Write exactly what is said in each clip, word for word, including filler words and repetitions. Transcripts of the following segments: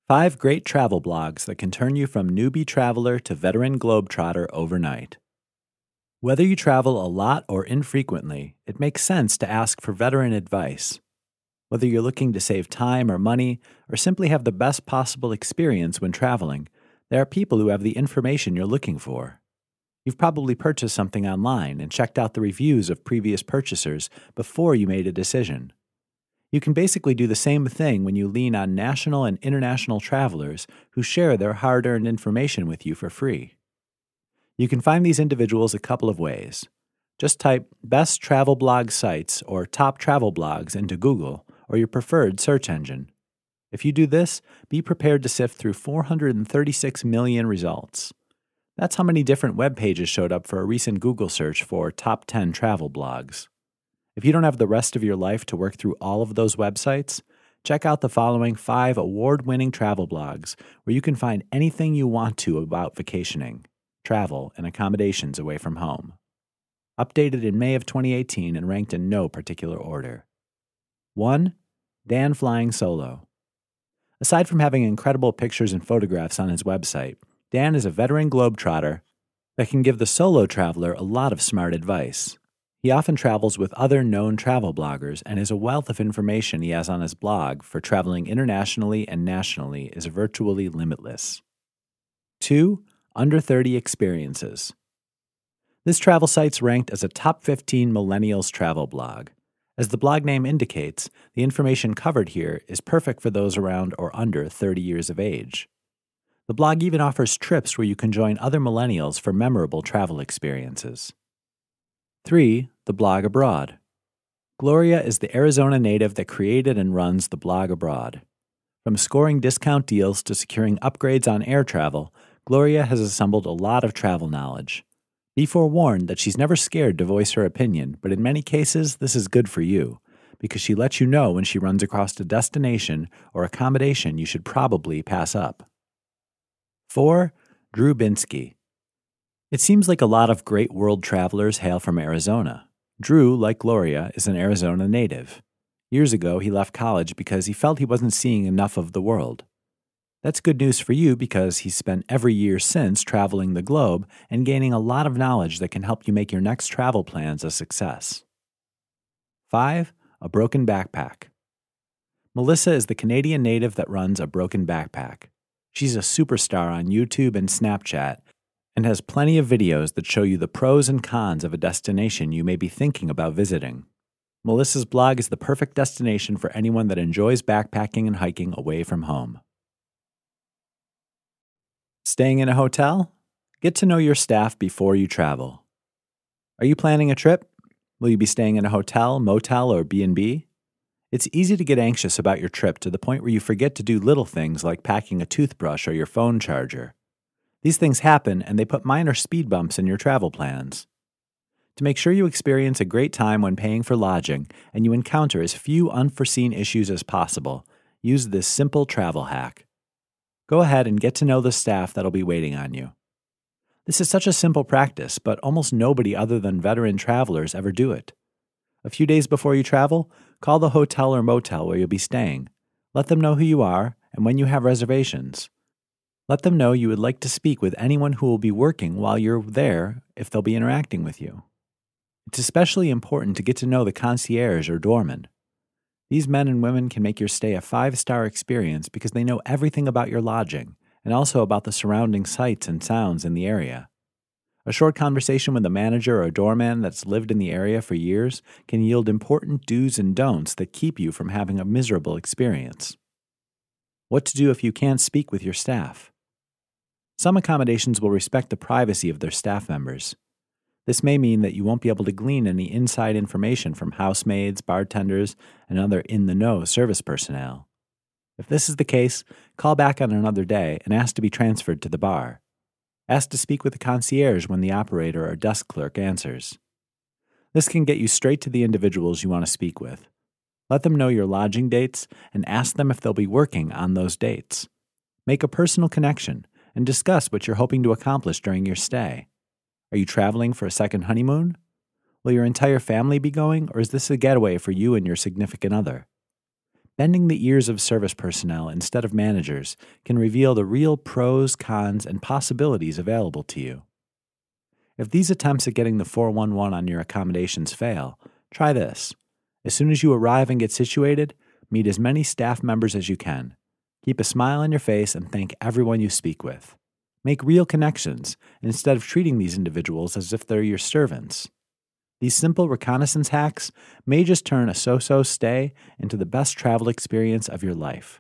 Five great travel blogs that can turn you from newbie traveler to veteran globetrotter overnight. Whether you travel a lot or infrequently, it makes sense to ask for veteran advice. Whether you're looking to save time or money, or simply have the best possible experience when traveling, there are people who have the information you're looking for. You've probably purchased something online and checked out the reviews of previous purchasers before you made a decision. You can basically do the same thing when you lean on national and international travelers who share their hard-earned information with you for free. You can find these individuals a couple of ways. Just type best travel blog sites or top travel blogs into Google or your preferred search engine. If you do this, be prepared to sift through four hundred thirty-six million results. That's how many different web pages showed up for a recent Google search for top ten travel blogs. If you don't have the rest of your life to work through all of those websites, check out the following five award-winning travel blogs where you can find anything you want to about vacationing, travel, and accommodations away from home. Updated in May of twenty eighteen and ranked in no particular order. one. Dan Flying Solo. Aside from having incredible pictures and photographs on his website, Dan is a veteran globetrotter that can give the solo traveler a lot of smart advice. He often travels with other known travel bloggers, and his wealth of information he has on his blog for traveling internationally and nationally is virtually limitless. two. Under thirty Experiences. This travel site's ranked as a top fifteen millennials travel blog. As the blog name indicates, the information covered here is perfect for those around or under thirty years of age. The blog even offers trips where you can join other millennials for memorable travel experiences. three. The Blog Abroad. Gloria is the Arizona native that created and runs The Blog Abroad. From scoring discount deals to securing upgrades on air travel, Gloria has assembled a lot of travel knowledge. Be forewarned that she's never scared to voice her opinion, but in many cases, this is good for you, because she lets you know when she runs across a destination or accommodation you should probably pass up. four. Drew Binsky. It seems like a lot of great world travelers hail from Arizona. Drew, like Gloria, is an Arizona native. Years ago, he left college because he felt he wasn't seeing enough of the world. That's good news for you because he's spent every year since traveling the globe and gaining a lot of knowledge that can help you make your next travel plans a success. five. A Broken Backpack. Melissa is the Canadian native that runs A Broken Backpack. She's a superstar on YouTube and Snapchat and has plenty of videos that show you the pros and cons of a destination you may be thinking about visiting. Melissa's blog is the perfect destination for anyone that enjoys backpacking and hiking away from home. Staying in a hotel? Get to know your staff before you travel. Are you planning a trip? Will you be staying in a hotel, motel, or B and B? It's easy to get anxious about your trip to the point where you forget to do little things like packing a toothbrush or your phone charger. These things happen, and they put minor speed bumps in your travel plans. To make sure you experience a great time when paying for lodging and you encounter as few unforeseen issues as possible, use this simple travel hack. Go ahead and get to know the staff that'll be waiting on you. This is such a simple practice, but almost nobody other than veteran travelers ever do it. A few days before you travel, call the hotel or motel where you'll be staying. Let them know who you are and when you have reservations. Let them know you would like to speak with anyone who will be working while you're there if they'll be interacting with you. It's especially important to get to know the concierge or doorman. These men and women can make your stay a five-star experience because they know everything about your lodging and also about the surrounding sights and sounds in the area. A short conversation with a manager or a doorman that's lived in the area for years can yield important do's and don'ts that keep you from having a miserable experience. What to do if you can't speak with your staff? Some accommodations will respect the privacy of their staff members. This may mean that you won't be able to glean any inside information from housemaids, bartenders, and other in-the-know service personnel. If this is the case, call back on another day and ask to be transferred to the bar. Ask to speak with the concierge when the operator or desk clerk answers. This can get you straight to the individuals you want to speak with. Let them know your lodging dates and ask them if they'll be working on those dates. Make a personal connection and discuss what you're hoping to accomplish during your stay. Are you traveling for a second honeymoon? Will your entire family be going, or is this a getaway for you and your significant other? Bending the ears of service personnel instead of managers can reveal the real pros, cons, and possibilities available to you. If these attempts at getting the four one one on your accommodations fail, try this. As soon as you arrive and get situated, meet as many staff members as you can. Keep a smile on your face and thank everyone you speak with. Make real connections instead of treating these individuals as if they're your servants. These simple reconnaissance hacks may just turn a so-so stay into the best travel experience of your life.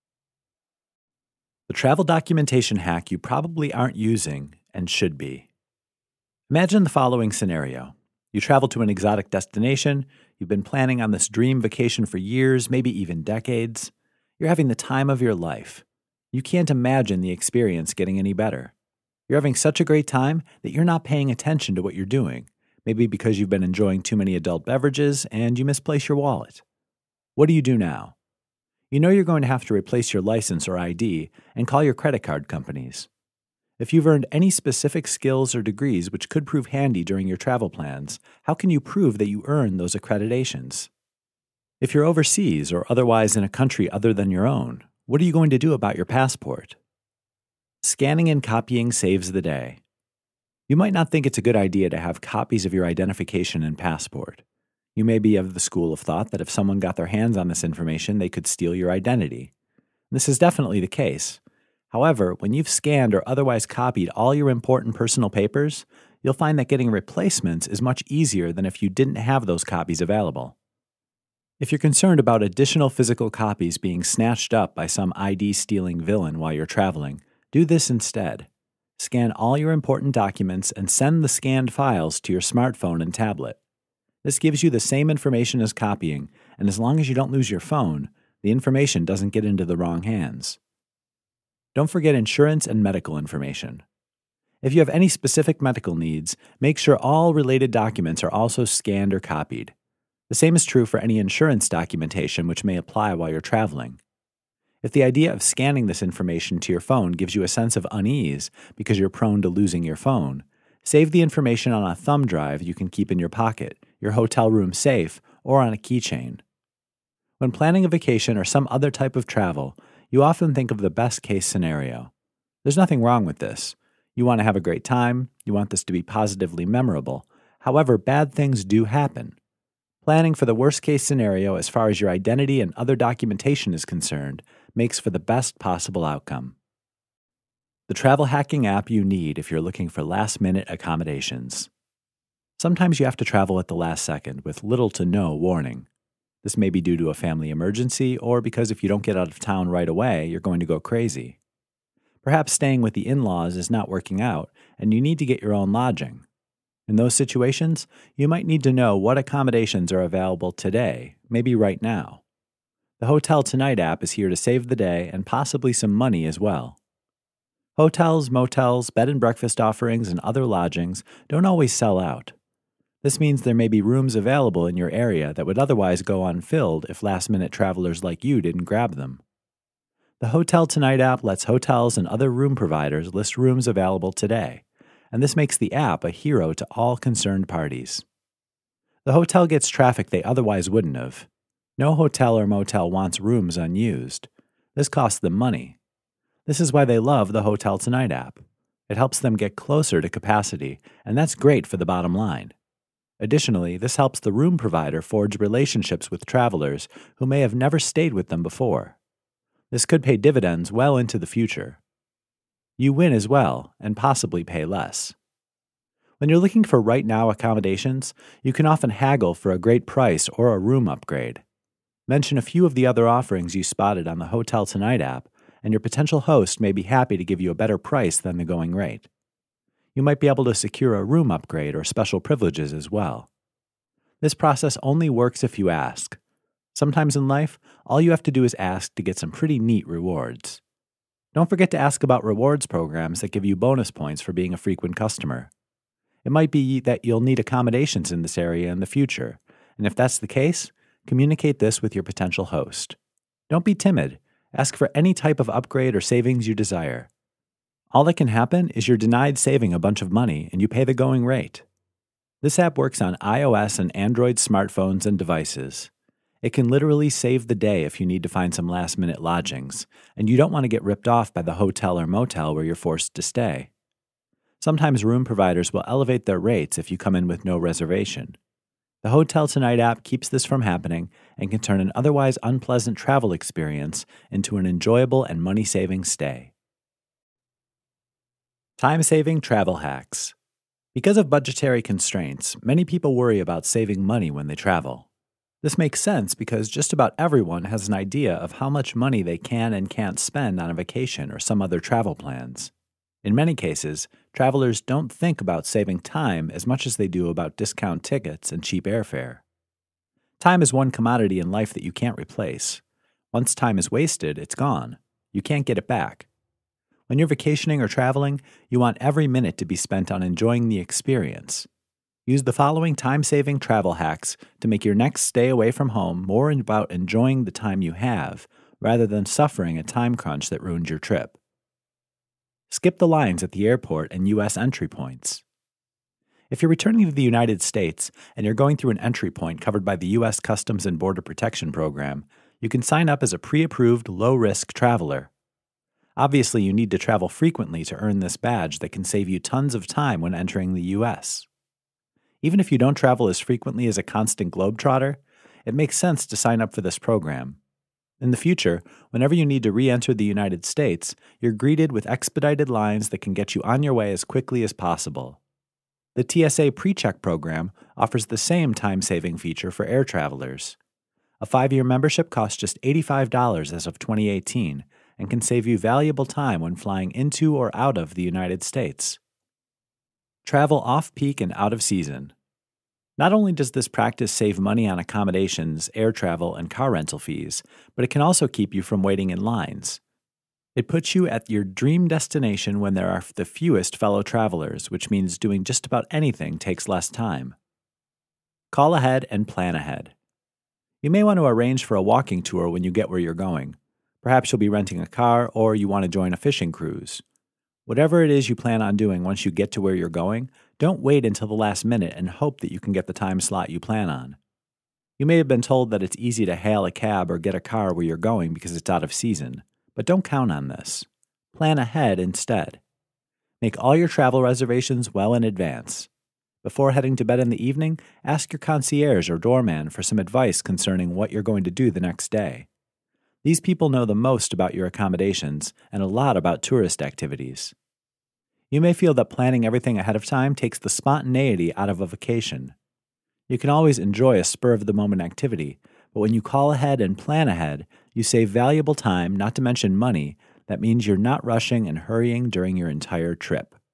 The travel documentation hack you probably aren't using and should be. Imagine the following scenario. You travel to an exotic destination, you've been planning on this dream vacation for years, maybe even decades. You're having the time of your life. You can't imagine the experience getting any better. You're having such a great time that you're not paying attention to what you're doing. Maybe because you've been enjoying too many adult beverages and you misplace your wallet. What do you do now? You know you're going to have to replace your license or I D and call your credit card companies. If you've earned any specific skills or degrees which could prove handy during your travel plans, how can you prove that you earned those accreditations? If you're overseas or otherwise in a country other than your own, what are you going to do about your passport? Scanning and copying saves the day. You might not think it's a good idea to have copies of your identification and passport. You may be of the school of thought that if someone got their hands on this information, they could steal your identity. This is definitely the case. However, when you've scanned or otherwise copied all your important personal papers, you'll find that getting replacements is much easier than if you didn't have those copies available. If you're concerned about additional physical copies being snatched up by some I D-stealing villain while you're traveling, do this instead. Scan all your important documents and send the scanned files to your smartphone and tablet. This gives you the same information as copying, and as long as you don't lose your phone, the information doesn't get into the wrong hands. Don't forget insurance and medical information. If you have any specific medical needs, make sure all related documents are also scanned or copied. The same is true for any insurance documentation which may apply while you're traveling. If the idea of scanning this information to your phone gives you a sense of unease because you're prone to losing your phone, save the information on a thumb drive you can keep in your pocket, your hotel room safe, or on a keychain. When planning a vacation or some other type of travel, you often think of the best-case scenario. There's nothing wrong with this. You want to have a great time, you want this to be positively memorable. However, bad things do happen. Planning for the worst-case scenario as far as your identity and other documentation is concerned makes for the best possible outcome. The travel hacking app you need if you're looking for last-minute accommodations. Sometimes you have to travel at the last second with little to no warning. This may be due to a family emergency or because if you don't get out of town right away, you're going to go crazy. Perhaps staying with the in-laws is not working out and you need to get your own lodging. In those situations, you might need to know what accommodations are available today, maybe right now. The Hotel Tonight app is here to save the day and possibly some money as well. Hotels, motels, bed and breakfast offerings, and other lodgings don't always sell out. This means there may be rooms available in your area that would otherwise go unfilled if last-minute travelers like you didn't grab them. The Hotel Tonight app lets hotels and other room providers list rooms available today, and this makes the app a hero to all concerned parties. The hotel gets traffic they otherwise wouldn't have. No hotel or motel wants rooms unused. This costs them money. This is why they love the Hotel Tonight app. It helps them get closer to capacity, and that's great for the bottom line. Additionally, this helps the room provider forge relationships with travelers who may have never stayed with them before. This could pay dividends well into the future. You win as well, and possibly pay less. When you're looking for right-now accommodations, you can often haggle for a great price or a room upgrade. Mention a few of the other offerings you spotted on the Hotel Tonight app, and your potential host may be happy to give you a better price than the going rate. You might be able to secure a room upgrade or special privileges as well. This process only works if you ask. Sometimes in life, all you have to do is ask to get some pretty neat rewards. Don't forget to ask about rewards programs that give you bonus points for being a frequent customer. It might be that you'll need accommodations in this area in the future, and if that's the case, communicate this with your potential host. Don't be timid. Ask for any type of upgrade or savings you desire. All that can happen is you're denied saving a bunch of money and you pay the going rate. This app works on iOS and Android smartphones and devices. It can literally save the day if you need to find some last-minute lodgings, and you don't want to get ripped off by the hotel or motel where you're forced to stay. Sometimes room providers will elevate their rates if you come in with no reservation. The Hotel Tonight app keeps this from happening and can turn an otherwise unpleasant travel experience into an enjoyable and money-saving stay. Time-saving travel hacks. Because of budgetary constraints, many people worry about saving money when they travel. This makes sense because just about everyone has an idea of how much money they can and can't spend on a vacation or some other travel plans. In many cases, travelers don't think about saving time as much as they do about discount tickets and cheap airfare. Time is one commodity in life that you can't replace. Once time is wasted, it's gone. You can't get it back. When you're vacationing or traveling, you want every minute to be spent on enjoying the experience. Use the following time-saving travel hacks to make your next stay away from home more about enjoying the time you have, rather than suffering a time crunch that ruins your trip. Skip the lines at the airport and U S entry points. If you're returning to the United States and you're going through an entry point covered by the U S Customs and Border Protection Program, you can sign up as a pre-approved low-risk traveler. Obviously, you need to travel frequently to earn this badge that can save you tons of time when entering the U S. Even if you don't travel as frequently as a constant globetrotter, it makes sense to sign up for this program. In the future, whenever you need to re-enter the United States, you're greeted with expedited lines that can get you on your way as quickly as possible. The T S A PreCheck program offers the same time-saving feature for air travelers. A five-year membership costs just eighty-five dollars as of twenty eighteen and can save you valuable time when flying into or out of the United States. Travel off-peak and out of season. Not only does this practice save money on accommodations, air travel, and car rental fees, but it can also keep you from waiting in lines. It puts you at your dream destination when there are the fewest fellow travelers, which means doing just about anything takes less time. Call ahead and plan ahead. You may want to arrange for a walking tour when you get where you're going. Perhaps you'll be renting a car or you want to join a fishing cruise. Whatever it is you plan on doing once you get to where you're going, don't wait until the last minute and hope that you can get the time slot you plan on. You may have been told that it's easy to hail a cab or get a car where you're going because it's out of season, but don't count on this. Plan ahead instead. Make all your travel reservations well in advance. Before heading to bed in the evening, ask your concierge or doorman for some advice concerning what you're going to do the next day. These people know the most about your accommodations and a lot about tourist activities. You may feel that planning everything ahead of time takes the spontaneity out of a vacation. You can always enjoy a spur-of-the-moment activity, but when you call ahead and plan ahead, you save valuable time, not to mention money. That means you're not rushing and hurrying during your entire trip.